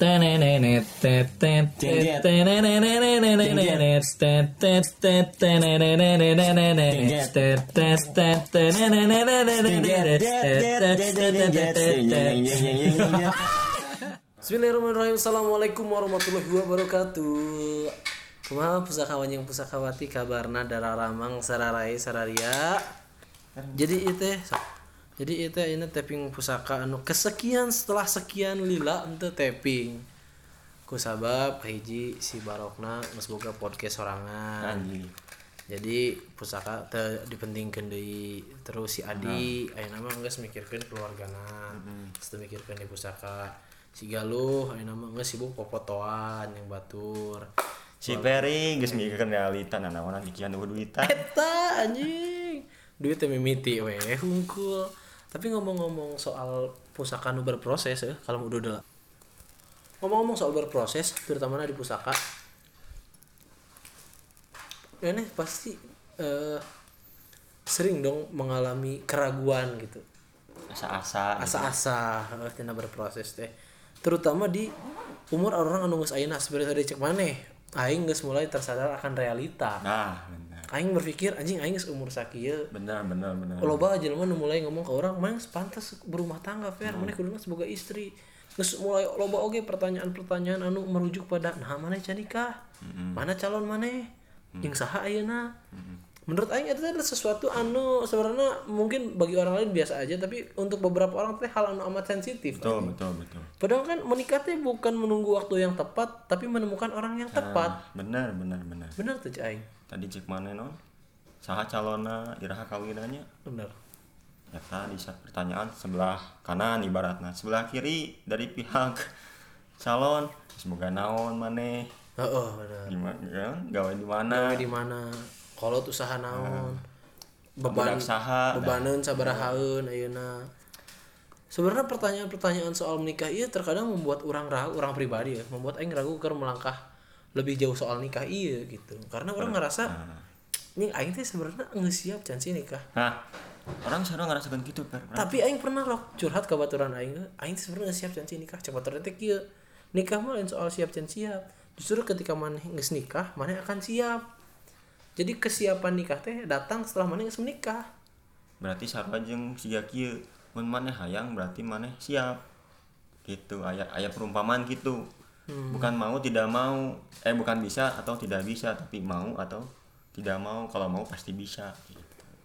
Bismillahirrahmanirrahim. Assalamualaikum warahmatullahi wabarakatuh. Kumaha pusakawan yang pusakawati kabarna dararamang sararai sararia. Jadi itu ini tapping pusaka anu kesekian setelah sekian lila ente tapping. Ku sabab hiji si Barokna geus boga podcast sorangan. Jadi pusaka teu dipentingkeun deui. Terus si Adi ayeuna mah geus mikirkeun keluargana. Geus mikirkeun di pusaka. Si Galuh ayeuna mah geus sibuk popotoan yang batur. Si Peri geus mikirkeun realita nanaonan dikian duitan. Eta anjing. Duit teh mimiti we hungkul. Tapi ngomong-ngomong soal pusaka nu berproses ya, kalau udah udah. Ngomong-ngomong soal berproses, terutama di pusaka. Ini pasti sering dong mengalami keraguan gitu. Asa-asa tina berproses teh. Terutama di umur orang anu geus ayeuna seperti tadi cek maneh. Aing geus mulai tersadar akan realita. Nah, benar. Aing berpikir anjing aing geus umur sakieu. Benar. Loba jelema nu mulai ngomong ke orang, "Mang pantas berumah tangga, Fer. Maneh kuduna semoga istri." Geus mulai loba oge pertanyaan-pertanyaan anu merujuk pada nah maneh can nikah? Mana calon maneh? Jeung saha ayeuna? Menurut aing itu adalah sesuatu anu sebenarnya mungkin bagi orang lain biasa aja, tapi untuk beberapa orang teh hal anu amat sensitif. Betul. Padahal kan menikah teh bukan menunggu waktu yang tepat, tapi menemukan orang yang tepat. Benar. Benar tuh aing. Tadi cek mana non? Saha calona iraha kawinannya? Benar. Eta di saat pertanyaan sebelah kanan ibaratna, sebelah kiri dari pihak calon semoga naon maneh. Heeh, benar. Gimana ya? Gawe di mana? Kolot usaha naon? Bebaneun sabarahaeun ayeuna. Sebenarnya pertanyaan-pertanyaan soal menikah ieu terkadang membuat orang ragu, orang pribadi ya, membuat aing ragu keur melangkah lebih jauh soal nikah ieu gitu. Karena orang ngerasa nih aing teh sebenarnya geus siap can sih nikah. Nah, orang sekarang ngerasakan gitu, Per. Tapi aing pernah rok curhat ka baturan aing teh sebenarnya geus siap can sih nikah. Cek baturan teh kieu. Nikah mah lain soal siap can siap. Justru ketika maneh geus nikah, maneh akan siap. Jadi kesiapan nikah teh datang setelah maneh geus menikah. Berarti sarua jeung siga kieu, mun maneh hayang berarti maneh siap. Gitu, aya perumpamaan gitu. Bukan mau tidak mau, bukan bisa atau tidak bisa, tapi mau atau tidak mau. Kalau mau pasti bisa gitu.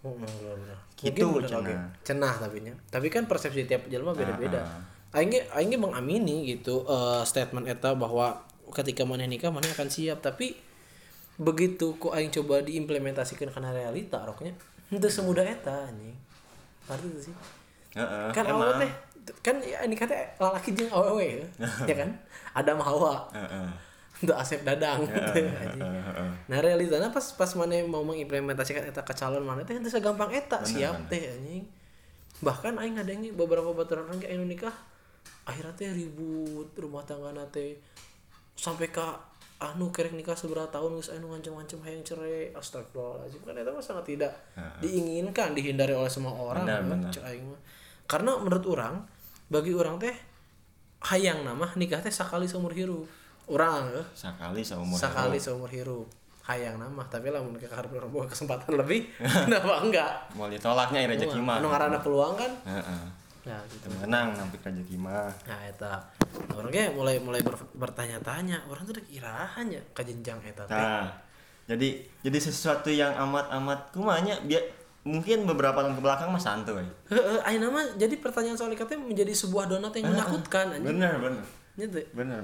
Gitu cenah tapi nya. Tapi kan persepsi tiap jelema beda-beda. Aing mengamini gitu statement eta bahwa ketika maneh nikah maneh akan siap, tapi begitu ku aing coba diimplementasikan kana realita roknya henteu semudah eta anjing. Arti itu sih. Kan awal teh kan ya nikah teh lalaki jeung awewe ya kan? Adam Hawa. Untuk Asep Dadang anjing. Nah realitanya pas maneh mau mengimplementasikan eta ke calon maneh teh henteu sagampang eta siap teh anjing. Bahkan aing ngadenge beberapa baturan orang anu nikah akhirnya teh ribut rumah tanggana teh sampai ka anu kerek nikah seberapa tahun geus anu ngancem-ngancem hayang cerai. Astagfirullahalazim, kan eta mah sangat tidak diinginkan, dihindari oleh semua orang. Benar. Karena menurut orang, bagi orang teh hayang nama nikah teh sakali seumur hirup. Urang sakali seumur hirup. Hayang nama, tapi lamun keharep boga kesempatan lebih, kenapa enggak? Mau ditolaknya rezeki mah. Anu ngaranna peluang kan? Nah, gitu. Menang nampik rezeki mah. Nah, eta. Orang ge mulai bertanya-tanya, orang tuh kirahan ya ka jenjang eta teh. Nah, jadi sesuatu yang amat kumanya mungkin beberapa tahun ke belakang mah santuy. Ayeuna mah jadi pertanyaan soal nikah teh menjadi sebuah donat yang menakutkan anjing. Bener. Gitu. Bener.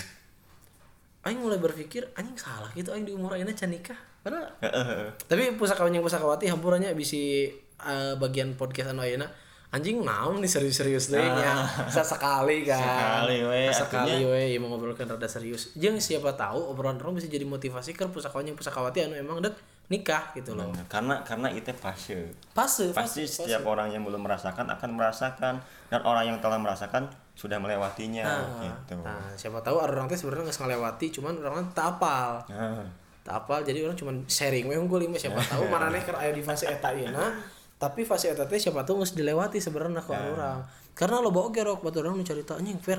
Aing mulai berpikir anjing salah gitu aing di umur ayeuna can nikah. Padahal. Tapi pusakawati hampurannya bisi bagian podcast anu ayeuna anjing naon nih serius-serius deui nya. Sekali kan. Sekali we mau ngobrolkeun rada serius. Jeung siapa tahu obrolan orang bisa jadi motivasi ke pusakawati anu emang dek nikah gitu loh. Karena itu fase. Pasti setiap orang yang belum merasakan akan merasakan, dan orang yang telah merasakan sudah melewatinya gitu. Nah, siapa tahu orang teh sebenarnya geus ngalewati, cuman orang tak apal. Tak apal jadi orang cuman sharing we unggul mah siapa tahu maraneh keur aya di fase eta ieu tapi fase eta teh siapa tahu geus dilewati sebenarnya ku orang. Karena loba oge rok baturan nu carita anjing Fer,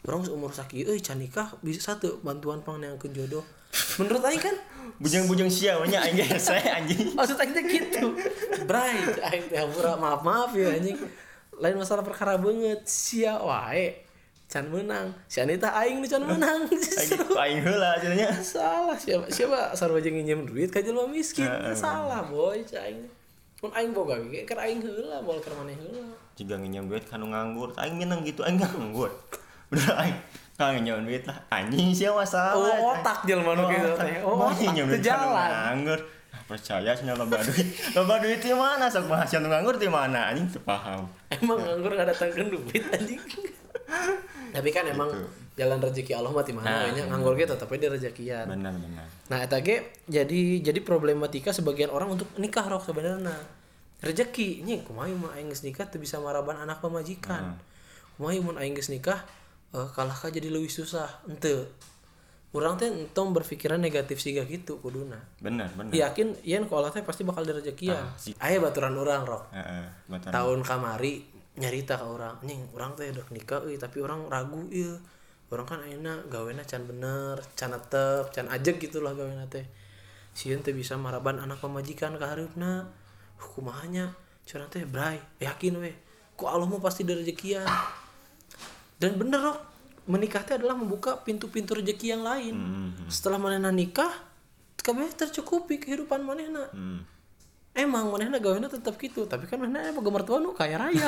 orang seumur sakieu can nikah bisa satu bantuan pangngeunkeun jodoh. Menurut aing kan bujang-bujang sia nya aing ge saya anjing. maksud aing teh gitu. Bray, aing teh maaf ya anjing. Lain masalah perkara banget sia wae can menang. Si Anita aing nu can menang. Aing heula cenanya. Salah siapa sarua jeung nginjem duit ka jelema miskin. Salah boy aing. Mun aing boga ge keur aing heula moal keur maneh heula. Jika nginjem duit kanu nganggur, aing minang gitu aing nganggur. Bener aing kang nginjem duit lah anjing sia masalah. Oh, otak jelema nu kitu teh. Oh, nginjem duit kanu nganggur. Percaya cenah loba duit. Loba duit di mana sok bahas anu nganggur di mana anjing teu paham. Emang nganggur ngadatangkeun duit anjing. Tapi kan emang gitu. Jalan rezeki Allah mah ti mana we nya nganggur ge tetep di rezekian. Benar. Nah eta ge jadi problematika sebagian orang untuk nikah rok sebenarnya. Rezeki nya kumaha mun aing geus nikah teu bisa maraban anak pamajikan. Kumaha mun aing geus nikah kalah ka jadi leuwih susah. Henteu. Urang teh entong berpikiran negatif siga gitu kuduna. Benar. Yakin yen ku Allah teh pasti bakal direzekian. Aya baturan urang rok. Tahun kamari nyarita ka urang, anjing urang teh udah nikah euy tapi urang ragu ieu. Urang kan ayeuna gawena can bener, can netep, can ajeg gitulah gawena teh. Sieun teh bisa maraban anak pamajikan ka hareupna. Kumaha nya? Curang teh bray, yakin we. Ku Allah mah pasti direzekian. Dan bener rok, menikah teh adalah membuka pintu-pintu rezeki yang lain. Setelah manehna nikah, kabeh tercukupi kehidupan manehna. Emang manehna gawena tetap gitu, tapi kan manehna emang gemertua nu kaya raya.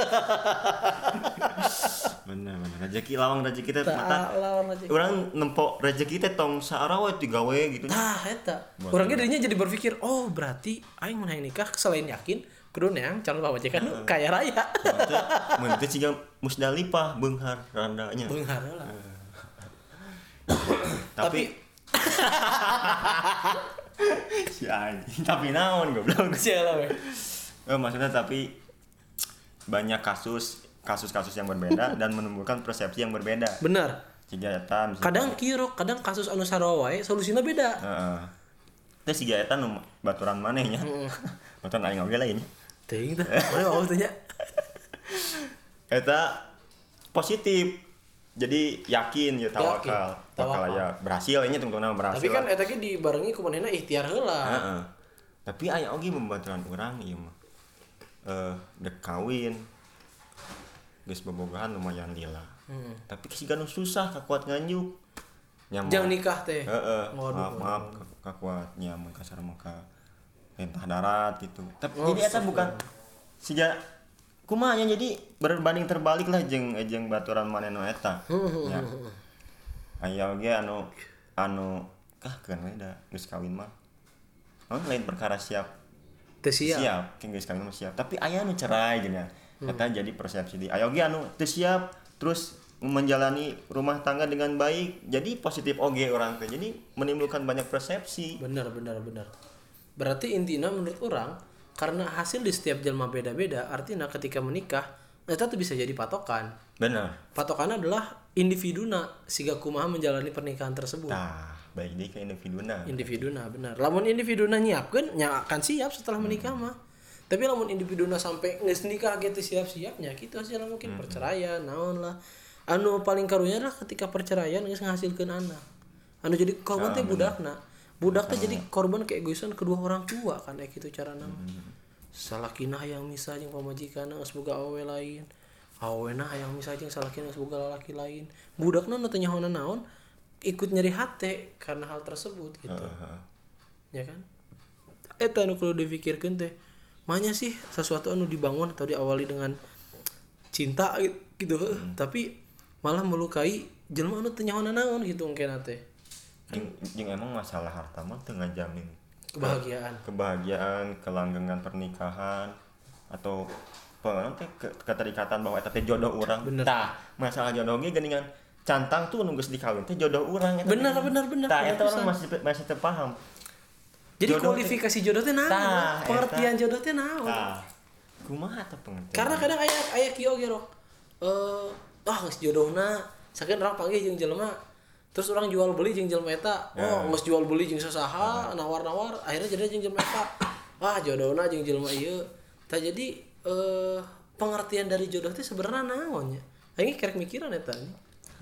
Bener. Rezeki lawang rezeki teh mata. Urang nempo rezeki teh tong saara we digawe gitu. Tah eta. Urang ge dirinya jadi berpikir, oh berarti aing mun hayang nikah selain yakin kudu neang calon pamajikan nu kaya raya. Mun teh ciga Musdalifah beunghar randanya. Beunghar lah. Tapi si anjing tapi naon goblok sialah we. Maksudnya tapi banyak kasus yang berbeda dan menimbulkan persepsi yang berbeda. Benar. Siga eta kadang kieu kadang kasus anu sarua wae solusina beda. Heeh. Teh siga eta nu baturan maneh nya. Baturan aing oge lain. Teuing teh. Mana mau teh nya. Eta positif. Jadi yakin ya tawakal aya berhasil nya tungtungna berhasil. Tapi kan eta ge dibarengi ku manehna ikhtiar heula. Heeh. Tapi aya oge membaturan urang ieu mah. Dek kawin. Geus bobogohan lumayan lila. Tapi siga nu susah kakuat nganjuk. Jang nikah teh. Heeh. Maaf kakuat nya mun kasar maka mentah darat gitu. Tapi jadi eta bukan siga kumaha nya jadi berbanding terbalik lah jeung baturan manehna eta. Ya. Aya oge anu keun we da geus kawin mah. Lain perkara siap. Teu siap. Geus kawin mah siap. Tapi aya anu cerai geunya. Eta jadi persepsi di. Aya oge anu teu siap terus menjalani rumah tangga dengan baik. Jadi positif oge orang teh. Jadi menimbulkan banyak persepsi. Benar. Berarti intinya menurut orang karena hasil di setiap jelma beda-beda, artinya ketika menikah eta tuh bisa jadi patokan. Benar. Patokannya adalah individuna siga kumaha menjalani pernikahan tersebut. Tah, baik deui ke individuna. Individuna benar. Lamun individuna nyiapkeun nya akan siap setelah menikah mah. Tapi lamun individuna sampai geus nikah gitu siap-siapnya gitu hasilna mungkin perceraian, naon lah. Anu paling karunya adalah ketika perceraian geus ngahasilkeun anak. Anu jadi korban teh budakna. Budak teh jadi korban keegoisan kedua orang tua kan kayak gitu carana. Salakina hayang misah jeung pamajikanna geus boga awewe lain. Awewena hayang misah jeung salakina geus boga lalaki lain. Budakna nu teu nyahoana naon ikut nyeri hate karena hal tersebut gitu. Ya kan? Eta nu kudu dipikirkeun teh. Manya sih sesuatu anu dibangun atau diawali dengan cinta gitu. Tapi malah melukai jelema anu teu nyahoana naon gitu engkena teh. Jeung emang masalah harta mah teu ngajamin kebahagiaan, kelanggengan pernikahan atau keterikatan bahwa eta teh jodoh urang. Tah, masalah jodoh ge geuningan cantang tuh nu geus dikawin teh jodoh urang eta. Bener. Tah, eta orang masih teu paham. Jadi jodoh kualifikasi jodoh teh naon? Pengertian jodoh teh naon? Kumaha teh pengertian? Karena kadang aya kieu ge rok. Geus jodohna sakeun urang panggih jeung jelema terus orang jual beli jeung jelema eta geus jual beli jeung sasaha nawar-nawar akhirnya jadi jeung jelema eta jodohna jeung jelema ieu tah jadi pengertian dari jodoh teh sebenarnya naon nya aing kerek mikiran eta nih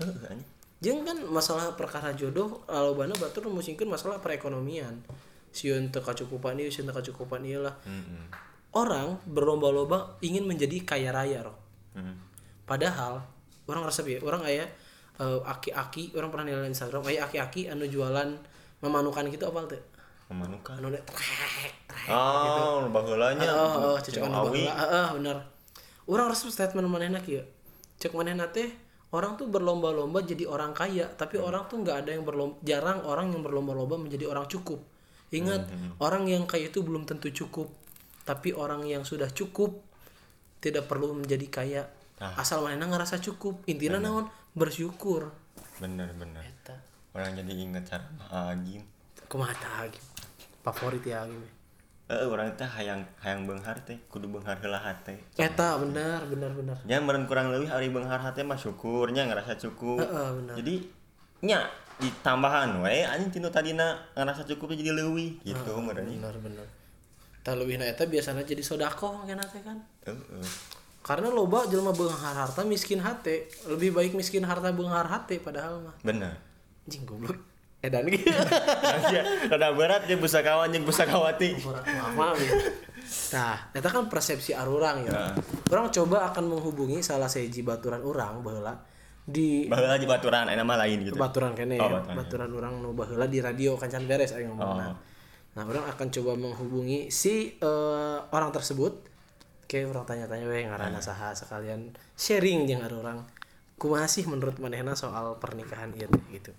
Anjing. Jeung kan masalah perkara jodoh lobana batur musingkeun masalah perekonomian. Sieun teu kacukupan ieu, sieun teu kacukupan ieu lah. Orang berlomba-lomba ingin menjadi kaya raya, Roh. Padahal orang resep ya, orang aya aki-aki, orang pernah nilai Instagram, aya aki-aki anu jualan memanukan gitu apal teu? Memanukan. Anu trek. Oh, baheulanya. Cocokan baheula. Bener. Urang resep statement manehna kieu. Cek manehna teh orang tuh berlomba-lomba jadi orang kaya, tapi orang tuh nggak ada yang jarang orang yang berlomba-lomba menjadi orang cukup. Ingat, orang yang kaya itu belum tentu cukup, tapi orang yang sudah cukup tidak perlu menjadi kaya. Asal manehna ngerasa cukup. Intina naon? Bersyukur. Bener. Eta. Orang jadi inget cara Agim. Kumaha tah Agim? Favorit ya Agim. Orang teh hayang beunghar teh kudu beunghar heula hate. Eta bener. Nya meureun kurang leuwih ari beunghar hate mah syukurnya ngerasa cukup. Bener. Jadi nya ditambahan we anjing tinu tadina ngerasa cukup jadi leuwih gitu meureunnya. Bener. Tah leuwihna eta biasana jadi sodaqoh kana teh kan. Karena loba jelema beunghar harta miskin hate, lebih baik miskin harta beunghar hate padahal mah. Bener. Anjing goblok. Edan gitu. Rada berat jeung pusakawan jeung pusakawati. Lama gitu. Nah, eta kan persepsi arurang ya. Urang coba akan menghubungi salah sahiji baturan urang baheula di baheula di baturan aya mah lain gitu. Baturan kene ya. Baturan urang nu baheula di radio kancan beres aya ngomongna. Nah, urang akan coba menghubungi si orang tersebut. Oke, urang tanya-tanya we ngaranna saha sekalian sharing jeung arurang. Kumaha sih menurut manehna soal pernikahan ieu gitu.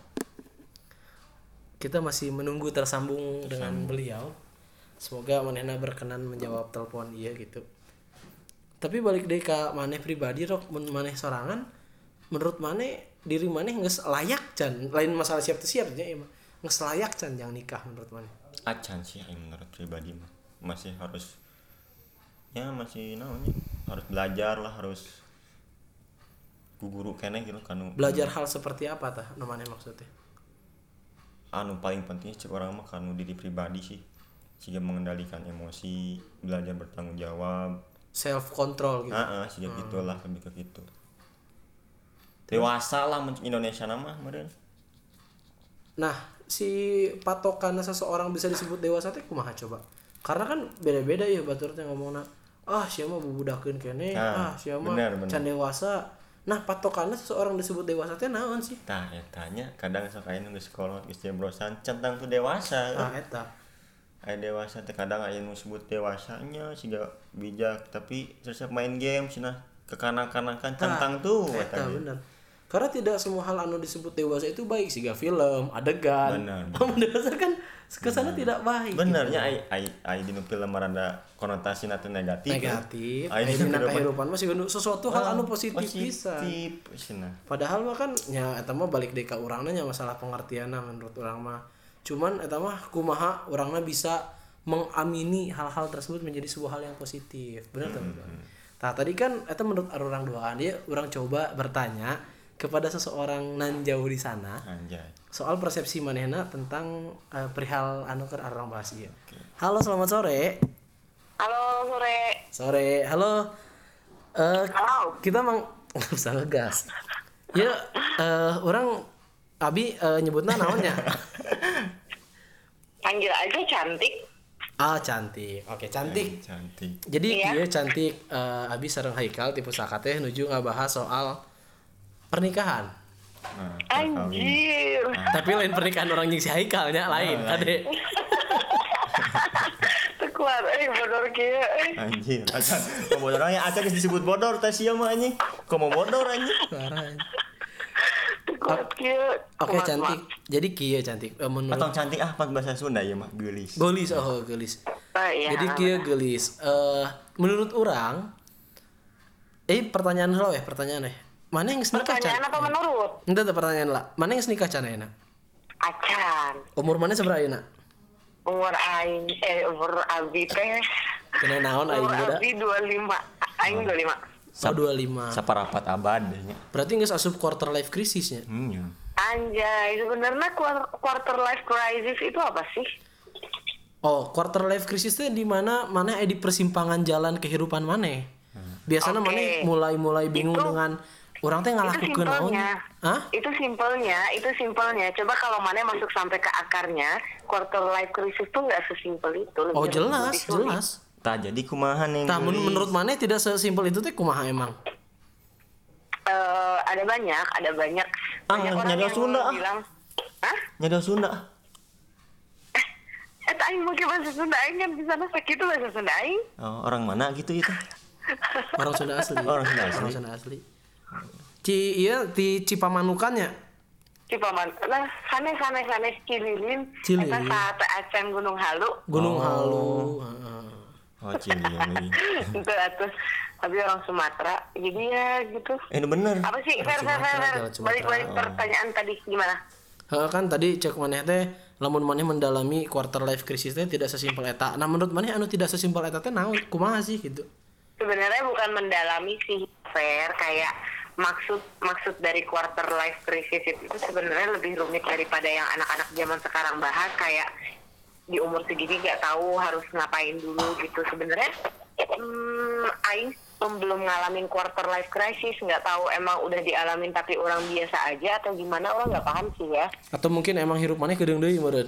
Kita masih menunggu tersambung dengan beliau. Semoga manehna berkenan menjawab telepon iya gitu. Tapi balik deui ka maneh pribadi Rok, mun maneh sorangan menurut maneh diri maneh geus layak can, lain masalah siap teu siap nya ieu mah. Geus layak can jang nikah menurut maneh. Acan sih menurut pribadi mah. Masih harus masih naonnya harus belajar lah, harus guru keneh gitu kan. Belajar hal seperti apa tah nu maneh maksudnya? Anu paling penting cek orang mah kanu diri pribadi sih, siga mengendalikan emosi, belajar bertanggung jawab, self control gitu. Siga gitulah, lebih ke gitu. Dewasa lah Indonesia nama meureun. Nah, si patokan seseorang bisa disebut dewasa teh kumaha coba? Karena kan beda-beda ya batur teh ngomongna. Sia mah bubudakeun keneh, sia mah can dewasa. Nah, patokannya seseorang disebut dewasa teh naon sih? Tah etanya kadang sok aya nu geus sekolah geus jebrosan centang tuh dewasa. Eta. Aya dewasa teh kadang aya nu disebut dewasanya siga bijak tapi resep main game cenah kekanak-kanakan centang tuh eta bener. Karena tidak semua hal anu disebut dewasa itu baik, siga film, adegan. Dewasa kan kesana tidak baik. Benernya ai dinu film rada konotasi teh negatif. Ai dina kehidupan mah siga sesuatu hal anu positif bisa. Padahal mah kan nya eta mah balik deui ka urangna nya masalah pengertianna menurut urang mah. Cuman eta mah kumaha urangna bisa mengamini hal-hal tersebut menjadi sebuah hal yang positif. Bener tuh. Nah, tadi kan eta menurut urang doaan dia urang coba bertanya kepada seseorang nan jauh di sana. Soal persepsi manehna tentang perihal anu keur arang bahas ieu. Halo, selamat sore. Halo, sore. Halo. Halo. Kita usah ngegas. Ya, orang Abi nyebutna naonnya? Panggil aja Cantik. Cantik. Oke, Cantik. Cantik. Jadi ieu Cantik Abi sareng Haikal tipe Saka teh nuju ngabahas soal pernikahan. Anjir. Tapi lain pernikahan orang jeung si Haikalnya lain, Kade. Tekuat bodor kieu. Anjir. Acan bodornya acan geus disebut bodor teh sia mah anjing. Komo bodor anjing. Oke, Cantik. Jadi kieu Cantik. Menurut atau Cantik pan bahasa Sunda ya mah geulis. Geulis. Iya. Jadi kieu geulis. Menurut urang pertanyaan heula pertanyaan mana yang nikah can? Pertanyaan apa menurut? Entah pertanyaan lah. Mana yang nikah can ayeuna? Acan. Umur mana sabaraha ayeuna? Umur Abi teh. Kena naon aing muda? Abi 25. Aing 25. 25. Saparapat abad nya. Berarti geus asup quarter life crisisnya. Anjay, sebenarnya quarter life crisis itu apa sih? Quarter life crisis itu di mana di persimpangan jalan kehidupan maneh. Biasanya maneh mulai bingung dengan Orang teh ngalakukeun naon? Hah? Itu simpelnya. Coba kalau mana masuk sampai ke akarnya, quarter life crisis tuh nggak sesimpel itu. Oh jelas. Tak jadi kumaha nih. Tah menurut mana tidak sesimpel itu teh kumaha emang? Ada banyak. Banyak orang nyada yang Sunda bilang, hah? Nyada Sunda. Aing mau ke bahasa Sunda, aing kan di sana sakit itu bahasa Sunda aing. Oh, orang mana gitu itu? Orang Sunda asli. Orang Sunda asli. Di Cipamanukannya. Cipaman. Nah, sanes Cililin. Eta saat acan Gunung Halu. Oh, Cililin. Itu atuh. Tapi orang Sumatera. Jadi ya gitu. Ini bener. Apa sih? Fer. Balik pertanyaan tadi gimana? Kan tadi cek maneh teh lamun maneh mendalami quarter life crisis teh tidak sesimpel eta. Nah menurut maneh anu tidak sesimpel eta teh naon kumaha sih gitu. Sebenarnya bukan mendalami sih, Fer, kayak maksud dari quarter life crisis itu sebenarnya lebih rumit daripada yang anak-anak zaman sekarang bahas, kayak di umur segini nggak tahu harus ngapain dulu gitu. Sebenarnya aing belum ngalamin quarter life crisis, nggak tahu emang udah dialamin tapi orang biasa aja atau gimana, orang nggak paham sih ya. Atau mungkin emang hirup maneh kedeung deui meureun.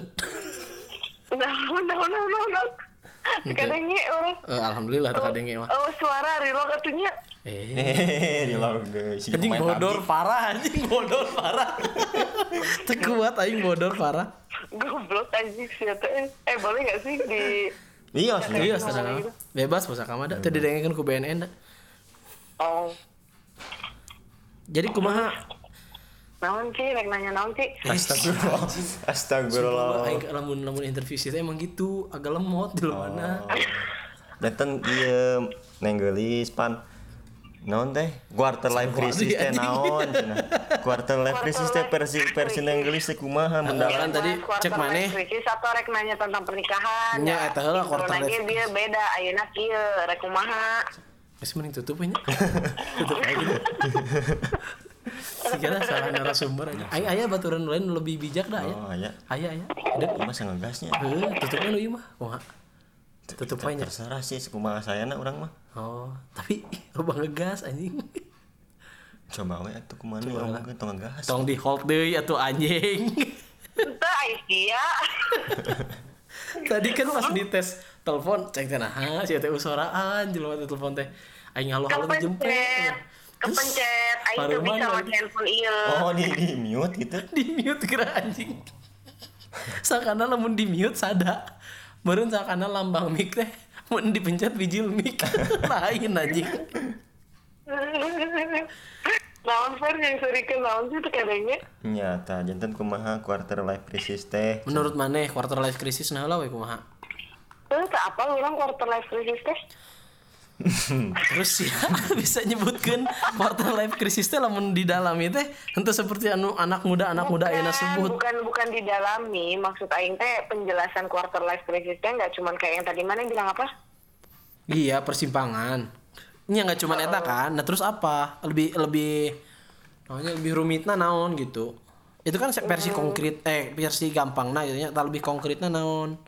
No. Kadangnya orang. Alhamdulillah kadangnya mah. Oh suara reload atunya. Reload geus. Anjing bodor parah. Teu kuat aing bodor parah. Goblok anjing sia teh. Boleh enggak sih di Iya, sadar. Bebas pusaka mah da teu didengekeun ku BNN da. Oh. Jadi kumaha? Naon sih, rek nanya naon sih? Astagfirullah. Aing lamun interview sih emang gitu, agak lemot di mana. Datang ieu nenggelis pan. Naon teh? Quarter life crisis teh naon cenah. Quarter life crisis teh versi nenggelis teh kumaha mendalam tadi cek maneh. Crisis atau rek nanya tentang pernikahan. Nya eta heula quarter life. Dia beda, ayeuna kieu rek kumaha. Geus mending tutup nya. Tutup aja gitu. Segala salah narasumber aja. Aya baturan lain lebih bijak dah ya. Oh, aya. Aya. Deuk Ieu mah sangegasnya. tutupnya nu ieu mah. Kumaha? Tutup aja. Terserah sih kumaha sayana urang mah. Oh, tapi loba ngegas anjing. Coba we atuh kumaha urang mah tong ngegas. Tong di hold deui atuh anjing. Teu Aisyah. Tadi kan pas dites telepon cek teh nah sia teh usoraan jelema teh telepon teh. Aing halo-halo dijemput. Kepencet, aing tuh bisa make handphone ieu. Oh, di mute gitu. Di mute kira anjing. Sakana lamun di mute sada. Meureun sakana lambang mic teh mun dipencet bijil mic. Lain anjing. Naon Fer yang surikeun naon sih teh kadangnya? Nya tah janten kumaha quarter life crisis teh. Menurut maneh quarter life crisis nah heula we kumaha? Teu apa urang quarter life crisis teh? Terus ya bisa nyebutkan quarter life crisis teh lamun didalami teh henteu seperti anu anak muda ayeuna sebut. Bukan didalami, maksud aing teh penjelasan quarter life crisis teh enggak cuman kayak yang tadi mana yang bilang apa? Iya, persimpangan. Nya enggak cuman eta kan. Nah, terus apa? Lebih namanya lebih rumitna naon gitu. Itu kan versi konkret versi gampangna gitu nya, lebih konkretna naon.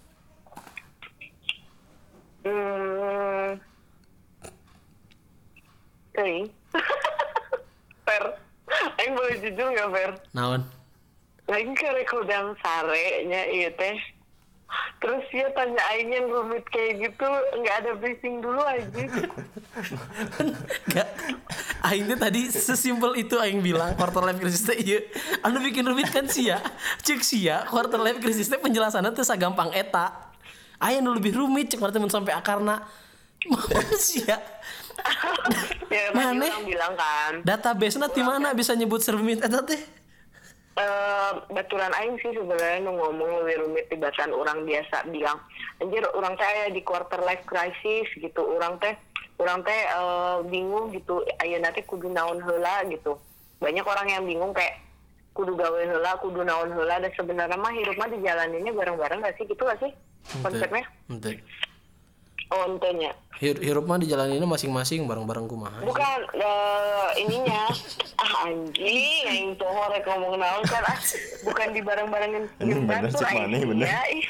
Fer, aing boleh jujur nggak Fer? Naon? Aing karek udang sare nya ieu teh. Terus dia tanya aing yang rumit kayak gitu, nggak ada briefing dulu aja. Enggak. Aing teh tadi sesimpel itu aing bilang quarter life crisis teh ieu. Anu bikin rumit kan sia. Cek sia quarter life crisis teh penjelasanna teh sagampang eta. Aya nu lebih rumit cek mun sampai akarna. Manusia. Ya, mana bilang kan database-na di mana bisa nyebut serumit eta teh? Baturan aing sih sebenarnya nu ngomong lebih rumit tibatan orang biasa bilang anjir orang teh aya di quarter life crisis gitu, orang teh bingung gitu ayeuna teh kudu naon heula gitu. Banyak orang yang bingung kayak kudu gawe heula, kudu naon heula, dan sebenarnya mah hirup mah dijalaninnya bareng-bareng gak sih, gitu gak sih konsepnya? Ente. Oh, entenya. Hirup mah dijalaninnya masing-masing bareng-bareng kumaha. Bukan ininya. Anjing, aing poho rek ngomong naon kan. Bukan di bareng-barengin hirup batur aing. Ya, ih.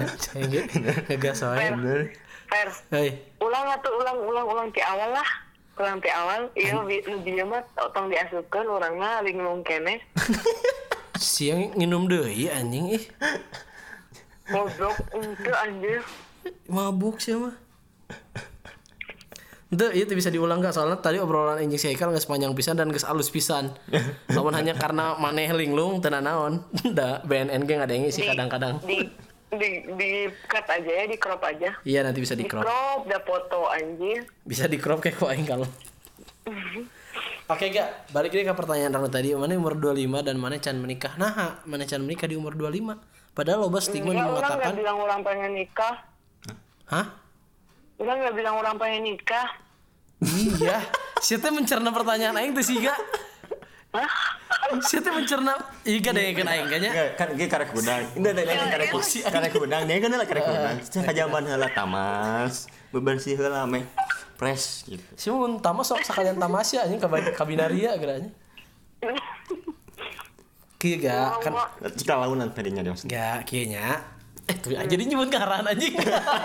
Ngegas wae. Fer. Hei. Ulang ti awal lah. kurang ti awal iya dia mah tong diasupkeun urangna linglung keneh. Siang nginum deui anjing ih. Goblok itu anjir. Mabuk sih mah. Itu bisa diulang gak? Soalnya tadi obrolan anjing si Haikal geus panjang pisan dan geus alus pisan. Lamun hanya karena maneh linglung teu naon. Da BNN ge ngadenge sih kadang-kadang. Di cut aja ya, di crop aja. Iya nanti bisa di Di crop. crop da foto anjir. Bisa di crop kayak ku aing kalau. Oke gak, balik lagi ke pertanyaan Rano tadi. Mana umur 25 dan mana can menikah? Nah, mana can menikah di umur 25? Padahal loba stigma Enggak, orang mengatakan. nggak bilang orang pengen nikah. Hah? Orang nggak bilang orang pengen nikah. Iya. Siapa mencerna pertanyaan aing teh siga? Hah? Siapa mencerna? Iga deh kan aing kayaknya. Kan ge karek udang. Indah teh karek udang. Dia kan lah karek udang. Kajaman heula tamas, bebersih heula meh. Fresh gitu. Si mun tamas sok sakalian tamasya anjing ka binaria geuranya. Kieu ga kan Cika launan tadinya dia maksudnya. ga kieu nya. Tuh aja di nyebut ngaran anjing.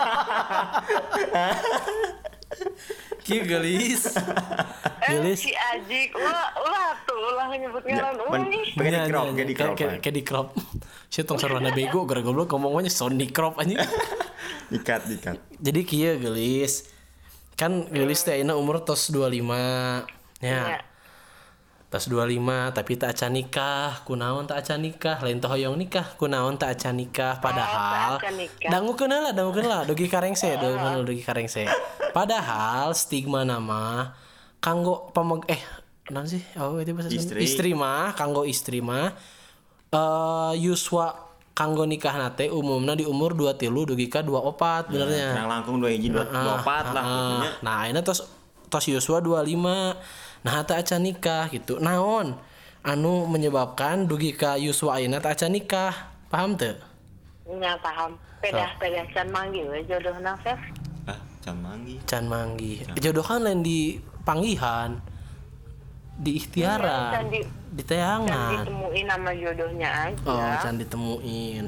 Kieu gelis. Si Ajik, ulah nyebut ngaran Kayak di crop. Kayak di crop. Si tong sarwana bego gara goblok ngomongnya Sony crop anjing. Dikat. Jadi kieu gelis. Kan gelis teh ayeuna umur tos 25. Ya. Tos 25 tapi tak acan nikah. Kunaon tak acan nikah? Lain teh hoyong nikah. Kunaon tak acan nikah? Padahal dangukeun lah dugi karengse, dugi karengse. Padahal stigma nama kanggo naon sih? Oh, itu bahasa istri mah, kanggo istri mah yuswa kanggo nikah nate umumna di umur 23 dugi ka 24 benernya. Kurang langkung 24 lah pokoknya. Nah, ayeuna tos yuswa 25. Nah, teu acan nikah gitu. Naon anu menyebabkan dugi ka yuswa ayeuna teu acan nikah? Paham teu? Nya paham. Pedah can manggil we jodohna Fef. Can manggih. Jodoh kan lain di panggihan. Di ikhtiaran. Di teangan. Can ditemuin nama jodohnya aja. Oh, can ditemuin.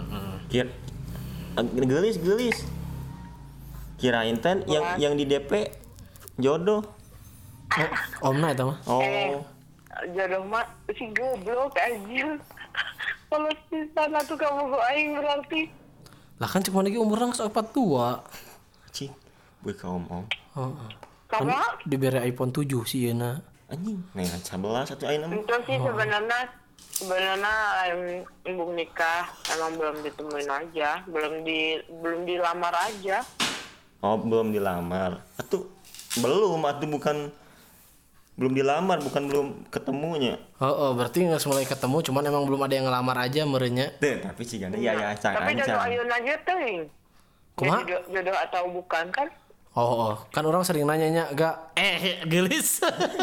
Gelis. Kirain teh yang di DP jodoh. Omna eta mah. Oh. Jodoh mah si goblok aja. Kalau pisan atuh kamu go aing berarti. Lah kan cuma lagi umurna geus 42. Cing, boy ka om. Heeh. Karena Dibere iPhone 7 sih yeuna. Anjing, nah 11 atuh ayeuna mah. itu sih sebenarnya ibu nikah emang belum ditemuin aja, belum dilamar aja. Oh, belum dilamar. Atuh bukan belum dilamar, bukan belum ketemunya. Berarti nggak mulai ketemu, cuman emang belum ada yang ngelamar aja merenya. Tapi sih gana ya Tapi jodoh ayeuna aja teuing. Kumaha? Jodoh atau bukan kan? Kan orang sering nanyanya gak gelis.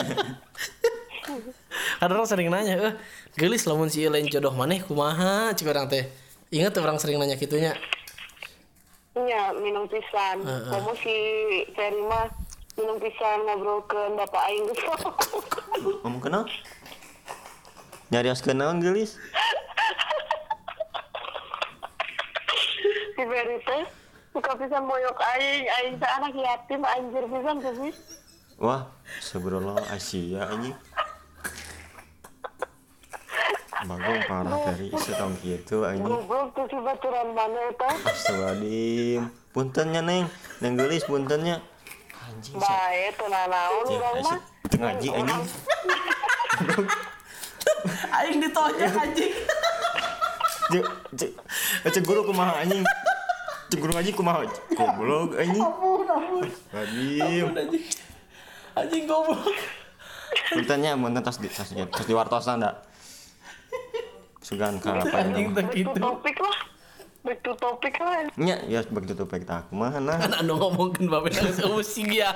Kan orang sering nanya, gelis lamun si lain jodoh maneh kumaha cik orang teh. Ingat orang sering nanya gitunya. Iya, minum pisan. Kamu si Ferry mah minum pisan ngobrolkeun bapak aing geus. Ngomong kenal? Nyarios kenaon gelis? Si Ferry teh suka pisan moyok aing teh anak yatim anjir pisan tuh sih. Wah, subhanallah Asia anjing. Bagong parah dari setahun gitu anjing. Goblok tuh si baturan mana eta? Astagfirullahaladzim. Puntennya neng gelis puntennya. Anjing. Bae teu nanaon urang mah. Ngaji anjing. Aing ditonjok anjing. Cek guru kumaha anjing. Cek guru ngaji kumaha? Goblok anjing. Anjing. Anjing goblok. Puntennya mun tas diwartosan da. Sugan ka apa ini? Back to topik lah. Nya, ya back to topik tak kumaha nah. Kan anu ngomongkeun babe nang musik ya.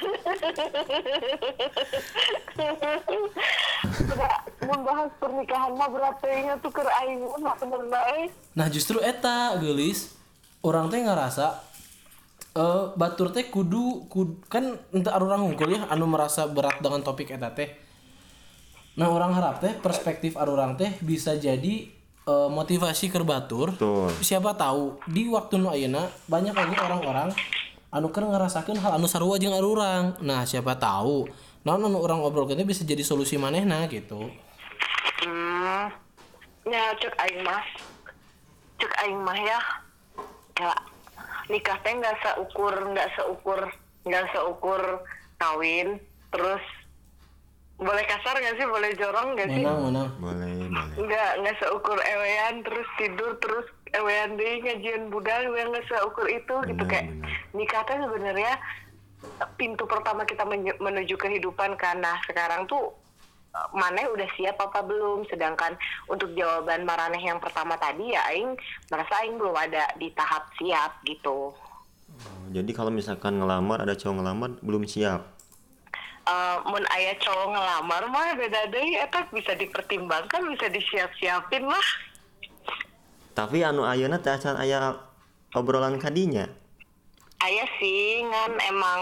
Mun bahas pernikahan mah berat teuingnya tuh keur aing mah sebenarnya. Nah, justru eta geulis urang teh ngarasa batur teh kudu kan ente urang hungkul ya anu merasa berat dengan topik eta teh. Nah, orang harap teh perspektif urang teh bisa jadi motivasi keur batur. Betul. Siapa tahu di waktu nu ayeuna banyak lagi orang-orang anu keur ngarasakeun hal anu sarua jeung arurang. Nah, siapa tahu naon anu urang obrolkeun teh bisa jadi solusi manehna gitu. Ya cek aing mah ya nikah teh nggak seukur kawin. Terus boleh kasar nggak sih, boleh jorong nggak sih? Menang. Boleh. Nggak seukur ewean terus tidur terus ewean deh ngajian budal yang nggak seukur itu gitu. Kayak nikah teh sebenarnya pintu pertama kita menuju kehidupan kan. Nah sekarang tuh maneh udah siap apa belum? Sedangkan untuk jawaban maraneh yang pertama tadi ya aing merasa aing belum ada di tahap siap gitu. Jadi kalau misalkan ngelamar, ada cowok ngelamar belum siap. Mun aya cowok ngelamar mah beda deui eta bisa dipertimbangkan, bisa disiap-siapin lah. Tapi anu ayeuna teh acan aya obrolan kadinya. Aya sih ngan emang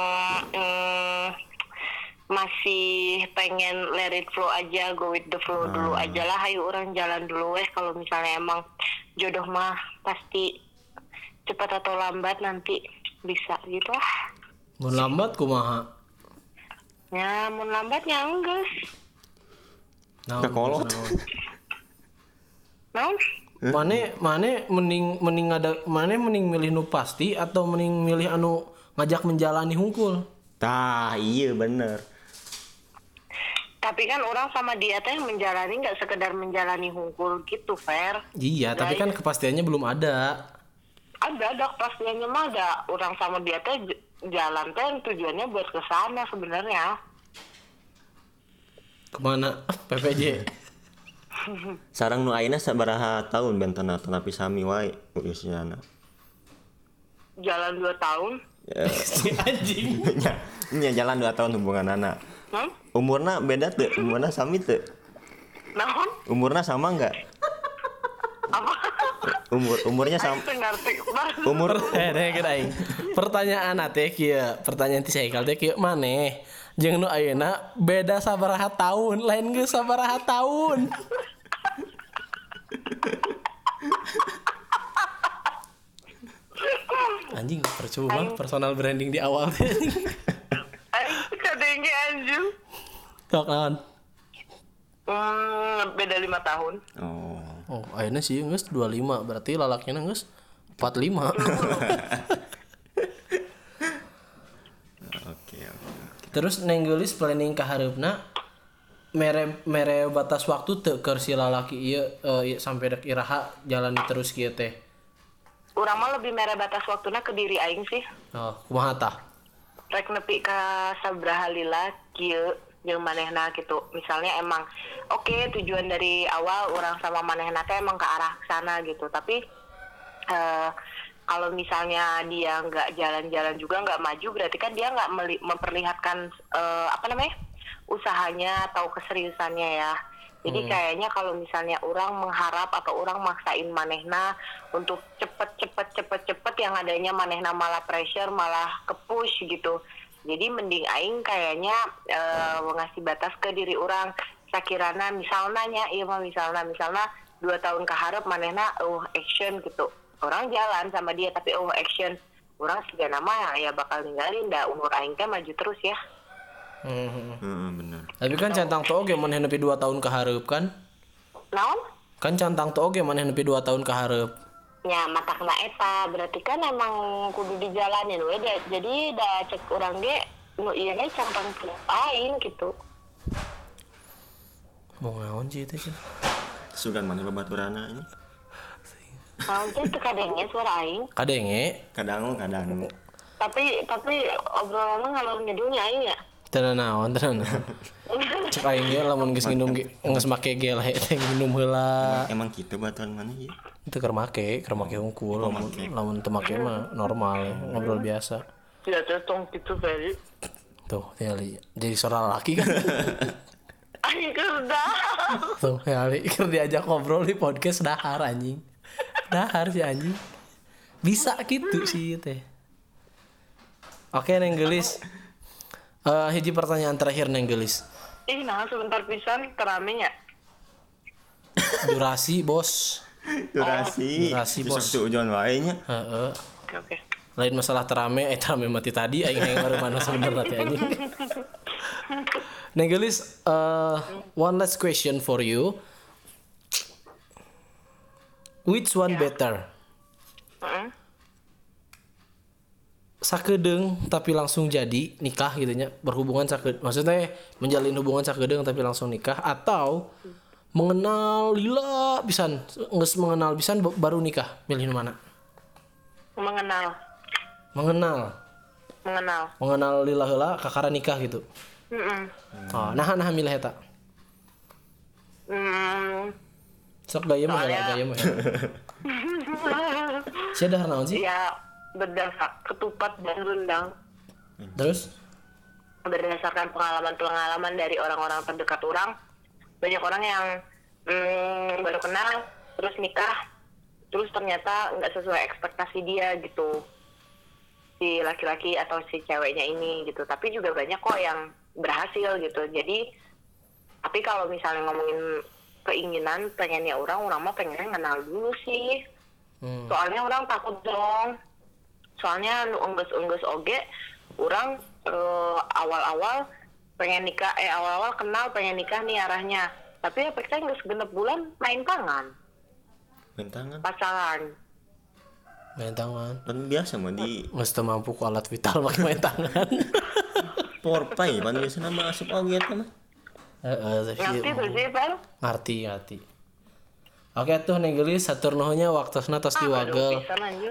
masih pengen let it flow aja, go with the flow dulu aja lah. Ayo orang jalan dulu kalau misalnya emang jodoh mah pasti cepat atau lambat nanti bisa gitu lah. Mun lambat kumaha? Ya, mun lambat ya enggeus. Kekolot. Naon? Mane mending milih nu pasti atau mending milih anu ngajak menjalani hungkul? Tah, iya bener. Tapi kan orang sama dia teh menjalani nggak sekedar menjalani hungkul gitu, Fer. Iya, tapi kan kepastiannya belum ada. Ada kepastiannya mah ada. Orang sama dia teh jalan teh tujuannya buat ke sana sebenarnya. Kemana? PPJ. Sarang nu ayeuna sabaraha tahun bentana tanapi sami wae usiana. Jalan 2 tahun. Si anjing. Nya jalan 2 tahun hubungan anak. Umurna beda teu? Umurna sami teu? Naon? Umurna sama enggak? Apa? Umurnya sama. Umur aing. Pertanyaan teh kieu, pertanyaan ti Saikal teh kieu maneh jeung nu ayeuna beda sabaraha tahun, lain geus sabaraha tahun. Anjing percuma personal branding di awal teh. Aing kadenge anjing. Tok naon? Beda 5 tahun. Oh, ayeuna sih geus 25, berarti lalakina geus 45. Oke. Terus Neng Gelis planning ka hareupna mere batas waktu teu keur si lalaki ieu sampai dek iraha jalani terus kieu teh. Urang mah lebih mere batas waktuna ke diri aing sih. Oh, kumaha tah? Rek nepi ka sabaraha lila kieu jeung manehna gitu. Misalnya emang oke, tujuan dari awal orang sama manehna teh emang ke arah sana gitu. Tapi kalau misalnya dia nggak jalan-jalan juga nggak maju, berarti kan dia nggak memperlihatkan usahanya atau keseriusannya ya. Jadi kayaknya kalau misalnya orang mengharap atau orang maksain manehna untuk cepet yang adanya manehna malah pressure, malah ke-push gitu. Jadi mending aing kayaknya ngasih batas ke diri orang. Sakirana misalnya 2 tahun keharap manehna action gitu. Orang jalan sama dia tapi action. Orang siga nama ya bakal ninggalin dah, umur aing teh maju terus ya. Bener. Tapi kan cantang teu oge maneh nepi 2 tahun kahareup kan? Naon? Kan cantang teu oge maneh nepi 2 tahun kahareup. Ya matakna eta berarti kan emang kudu dijalanin we. Jadi da cek urang ge nu ieu ge cantang teu aing gitu. Mau ngaon sih teh? Sugan mana babaturana ini? Nanti itu kadangnya suara aing. Kadang. Tapi obrolannya ngalor ngidulnya aing ya. Tenan naon. Cek aing ge lamun geus nginum geus make gel teh nginum heula. Emang kitu baturan mana ieu? Teu keur make hungkul, lamun teu make mah normal ngobrol biasa. Ya tong gitu Ferry. Tuh, tinggali. Jadi suara laki kan. Aing kerja. Tuh, tinggali keur diajak ngobrol di podcast dahar anjing. Dahar si anjing. Bisa gitu sih teh. Oke Neng Gelis. Hiji pertanyaan terakhir Neng Gelis. Nah sebentar pisan keramenya. Durasi bos. Durasi bos. Bisa ujian wae nya. Oke. Lain masalah terame mati tadi aing baru mana sebenarnya teh anjing. Nenggelis, one last question for you. Which one better? Sakedeung tapi langsung jadi nikah gitu nya, berhubungan maksudnya menjalin hubungan sakedeung tapi langsung nikah, atau mengenal lila pisan, geus mengenal pisan baru nikah, milih mana? Mengenal lila heula kakara nikah gitu. Oh, nah milih eta. Sok gaya mah gaya mah. Sia dahar naon sih? Ya berdasar ketupat dan rendang. Terus Berdasarkan pengalaman dari orang-orang terdekat orang, banyak orang yang baru kenal terus nikah, terus ternyata nggak sesuai ekspektasi dia gitu, si laki-laki atau si ceweknya ini gitu. Tapi juga banyak kok yang berhasil gitu. Jadi tapi kalau misalnya ngomongin keinginan pengennya orang mah pengennya kenal dulu sih. Soalnya orang takut dong. Soalnya nu enggeus oge orang awal-awal pengen nikah, awal-awal kenal pengen nikah nih arahnya. Tapi efeknya geus genep bulan main tangan. Pacaran. Main tangan. Kan biasa mah di geus teu mampu ku alat vital make main tangan. Porpai pan biasana mah asup oge eta mah. Ngerti. Oke tuh Nenggelis, satur nuhunnya waktosna tos diwagel.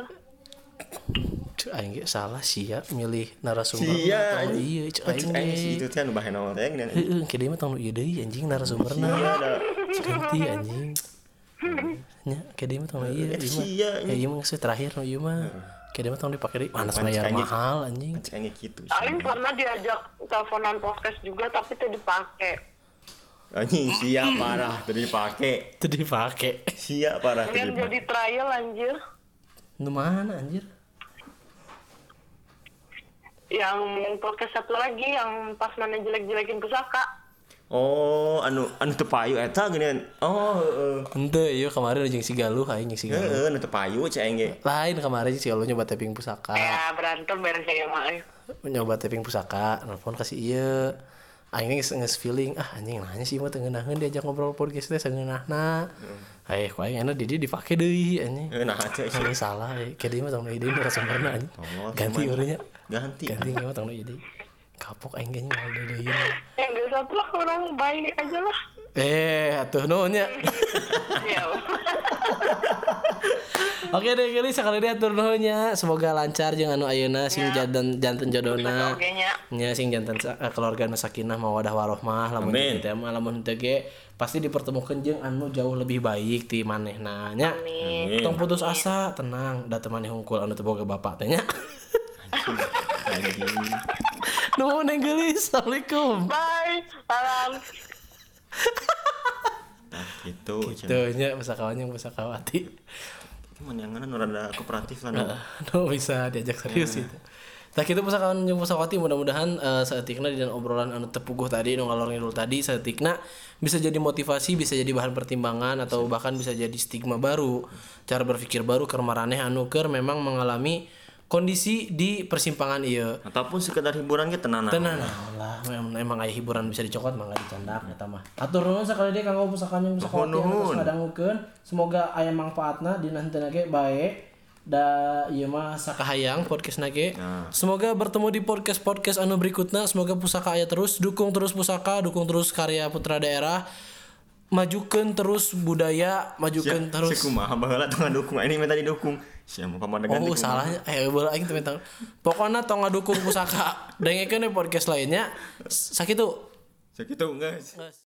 Aing ge salah sia milih narasumber. Sia. Iya, aing itu teh anu bahe naon teh gini. Heeh, kieu mah tong ieu deui anjing narasumberna. Ganti anjing. Nya kieu mah tong ieu. Sia. Ieu mah geus terakhir nu ieu mah. Kieu mah tong dipake deui. Panas bayar mahal anjing. Kayak gitu. Aing pernah diajak teleponan podcast juga tapi teu dipake. Anjing sia parah teu dipake. Sia parah teu Yang jadi trial anjir. Nu mana anjir? Yang podcast satu lagi yang pas mana jelek-jelekin pusaka. Oh, anu teu payu eta geuneun. Oh, heeh. Henteu ieu kemarin jeung si Galuh aing si Galuh. Heeh, anu teu payu cai aing ge. Lain kemarin si Galuh nyoba taping pusaka. Ya berantem beres ya mah. Nyoba taping pusaka, nelpon kasih ieu. Aing geus feeling anjing nanya sih mah teu ngeunaheun diajak ngobrol podcast teh sageunahna. Ku aing anu di dieu dipake deui anjing. Nah cai Ini salah, kayak dia mah tong ide narasumberna anjing. Ganti urangnya. Ganti mah tong ide. Kapok aing ge ngal deui. Yang geus satu lah orang baik aja lah. Atuh nuhunnya. Ya. Oke deh Geli, sekali dia atur nuhunnya. Semoga lancar jeung anu ayeuna sing janten jodona. Nya sing janten keluarga nu sakinah mawadah warohmah lamun kitu teh mah lamun teu ge pasti dipertemukan jeung anu jauh lebih baik ti manehna nya. Tong putus asa, tenang, da teu maneh hungkul anu teu boga bapak teh nya. Nuhun Geli, assalamualaikum. Bye. Salam. Gitu nya pusakawati. Cuman yang mana rada kooperatif lah. Bisa diajak serius itu. Tah kitu pusakawan jeung pusakawati mudah-mudahan saeutikna dina obrolan anu tepuguh tadi nu ngalor ngidul tadi saeutikna bisa jadi motivasi, bisa jadi bahan pertimbangan atau bahkan bisa jadi stigma baru, cara berpikir baru keur maraneh anu keur memang mengalami kondisi di persimpangan ieu. Ataupun sekedar hiburan ge tenan lah. Emang aya hiburan bisa dicokot mangga dicandak eta mah. Atur nuhun sakali deui kanggo pusakawan jeung pusakawati anu tos ngadangukeun. Semoga aya manfaatna dina henteu ge bae. Da ieu mah sakahayang podcastna ge. Semoga bertemu di podcast anu berikutna. Semoga pusaka aya terus, dukung terus pusaka, dukung terus karya putra daerah. Majukeun terus budaya, majukeun terus. Kumaha baheula tong ngadukung ini minta didukung. Sia mah pamadegan Oh, salahnya baheula aing teh minta. Pokona tong ngadukung pusaka. Dengekeun podcast lainnya. Sakitu. Sakitu geus.